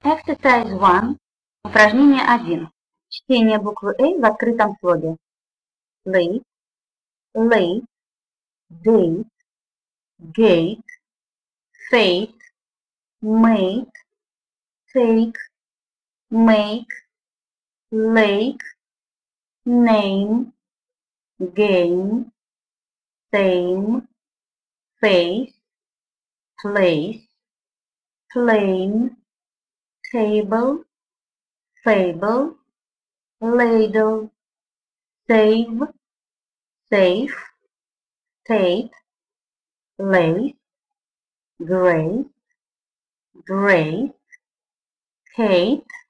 Exercise 1. Упражнение 1. Чтение буквы A в открытом слоге. Late, late, date, gate, fate, mate, take, make, lake, name, game, same, face, place, plane, table, fable, ladle, save, safe, state, lace, grace, grace, Kate,